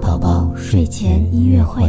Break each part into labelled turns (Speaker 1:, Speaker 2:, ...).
Speaker 1: 宝宝睡前音乐会。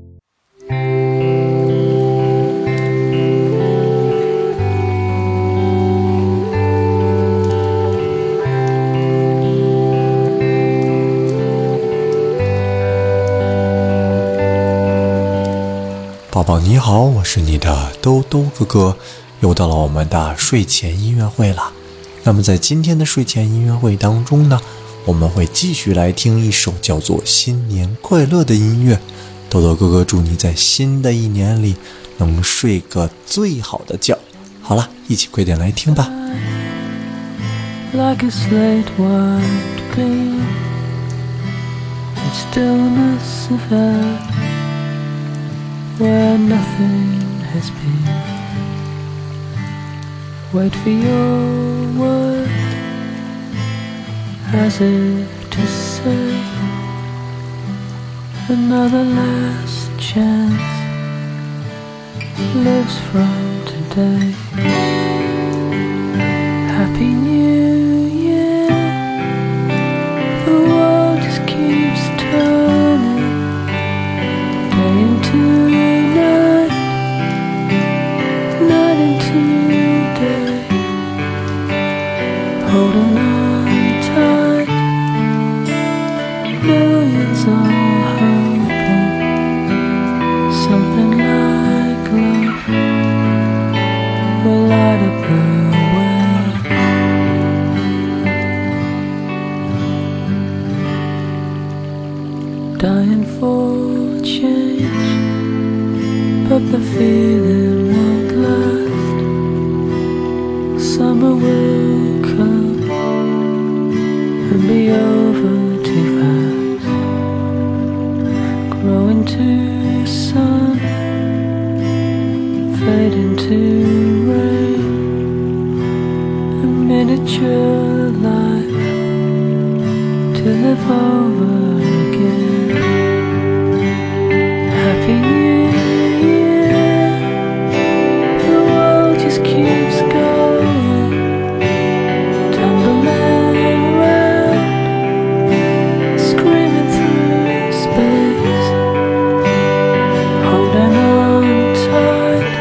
Speaker 2: 宝宝你好，我是你的兜兜哥哥，又到了我们的睡前音乐会了。那么在今天的睡前音乐会当中呢，我们会继续来听一首叫做新年快乐的音乐。兜兜哥哥祝你在新的一年里能睡个最好的觉。好了，一起快点来听吧。
Speaker 3: Like a slate wiped clean, in stillness of earth where nothing has been. Wait for your word, as if to say another last chance lives from today. Happy New Year, the world just keeps turning, day into night, night into day, holding on tight, millions are hoping something like love will light up the way. Dying for change, but the feeling won't last. Summer will come and be over too fast. Grow into sun, fade into rain, a miniature life to live over again. Happy New Year, the world just keeps going, tumbling round, screaming through space, holding on tight,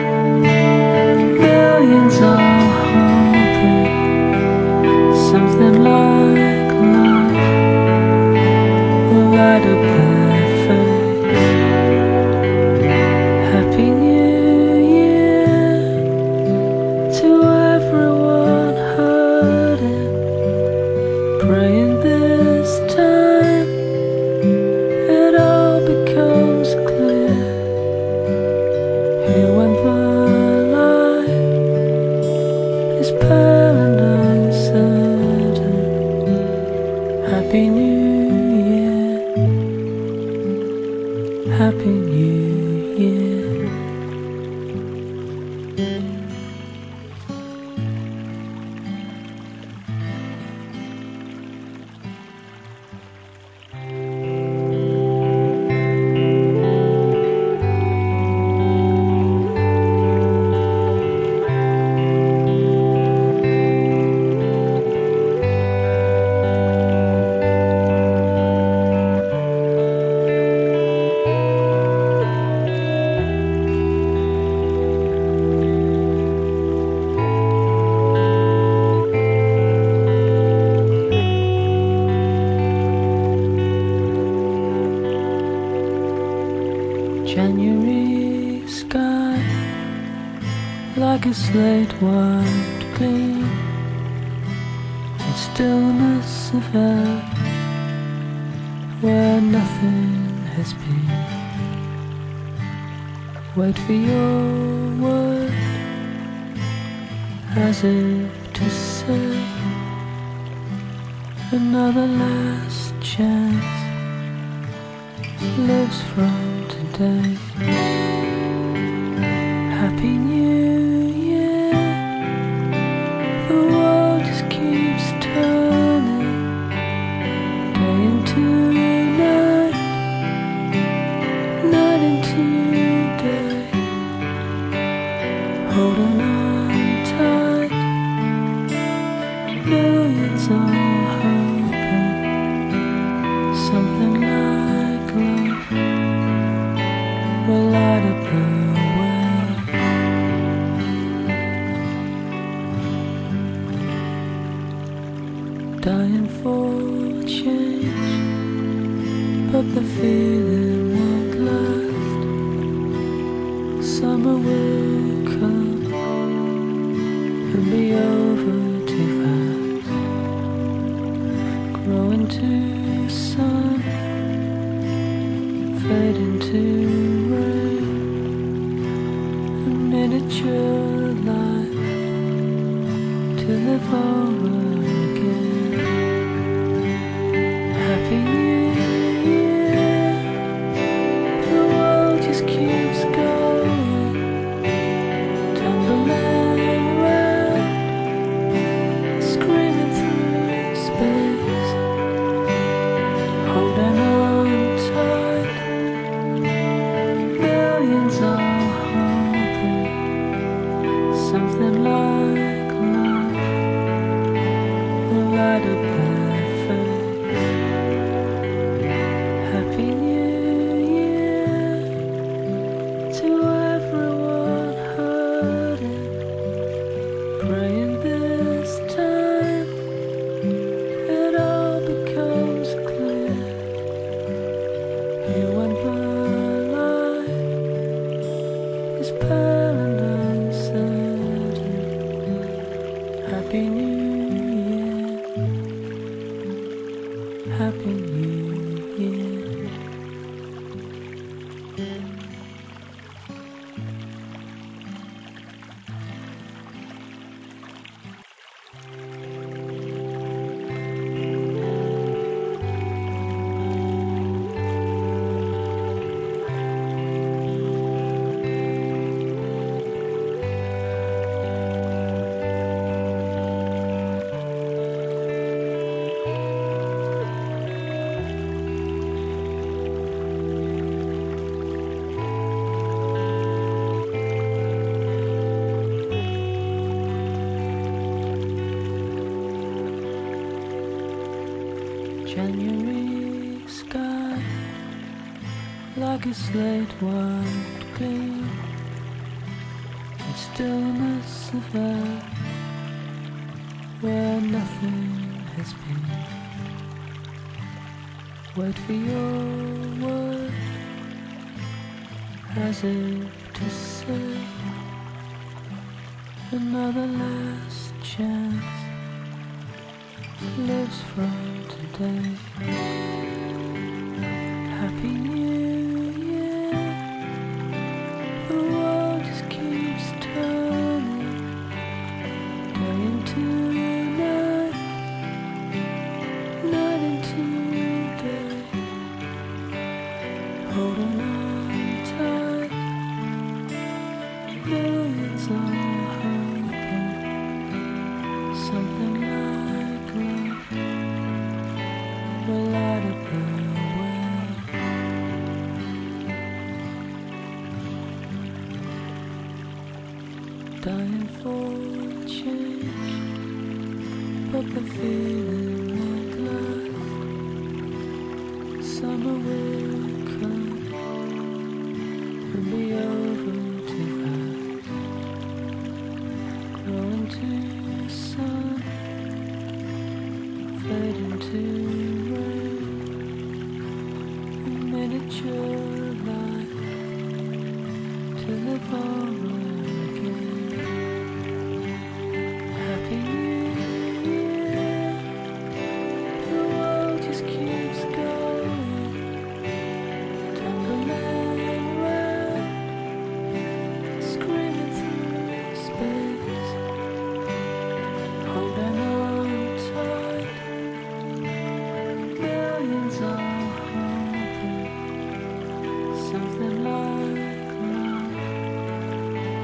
Speaker 3: millions are hoping something like love will light up their face. Happy New Year to everyone hurting, praying this time it all becomes clear. Here when the light is pale and uncertain. Happy New Year, Happy New Year. January sky, like a slate wiped clean, in stillness of earth where nothing has been. Wait for your word, as if to say another last chance lives from today. Happy New Year, the world just keeps turning, day into night, night into day, holding on tight, millions are hoping something like for change, but the feeling won't last. Summer will come and be over too fast. Grow into sun, fade into rain, a miniature life to live over again. Happy New Year, the world just keeps going, tumbling round, screaming through space, holding on tight. Millions are hoping something like love will light up their face. Happy New Year to everyone hurting, praying this time it all becomes clear. You and the light is pale and uncertain. Happy New Year, Happy New Year. January sky, like a slate white gleam, and stillness of earth where nothing has been. Wait for your word, as if to say another last chance lives from today. Happy New Year, the world just keeps turning, day into night, night into day, holding on tight. Millions are hoping something like love will light up the way. Dying for change, but the feeling won't last. Summer will come and be over too fast. Grow into sun, fade into rain, a miniature life to live over again. Happy New Year, the world just keeps going, tumbling round, screaming through space, holding on tight. Millions are hoping something like love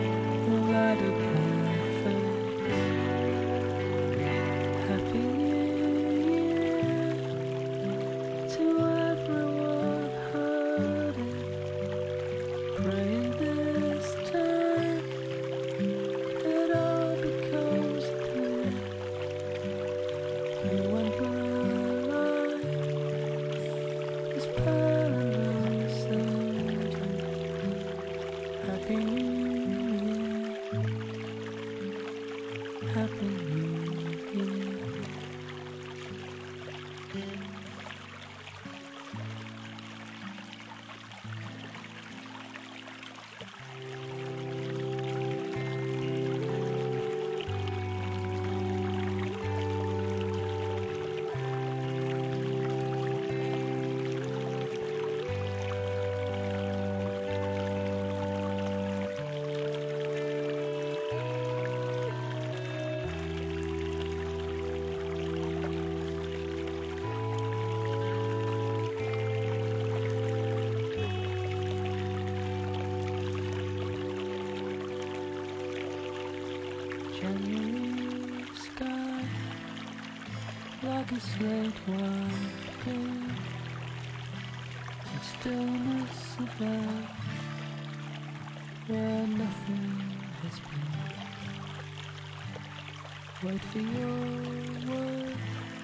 Speaker 3: January sky, like a slate white blue, the stillness of earth, where nothing has been. Wait for your word,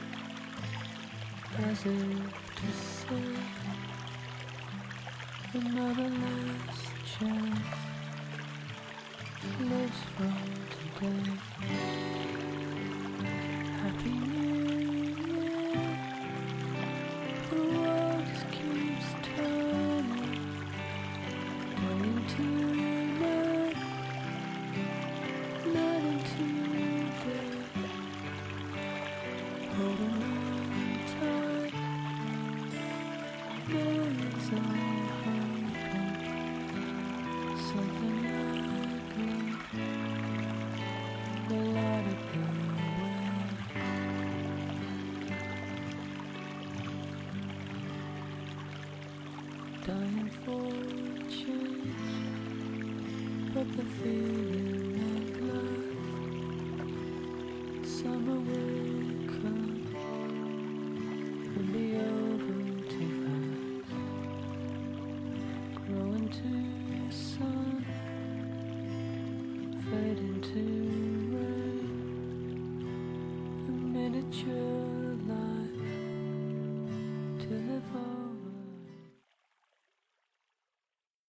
Speaker 3: as if to say another last chance lives from today. Happy New Year. The world just keeps turning, day into night, night into day. Holding on tight, millions are hoping something like love will light up the way. Dying for change, but the feeling won't last. Summer will come and be over too fast. Grow into sun, fade into rain, a miniature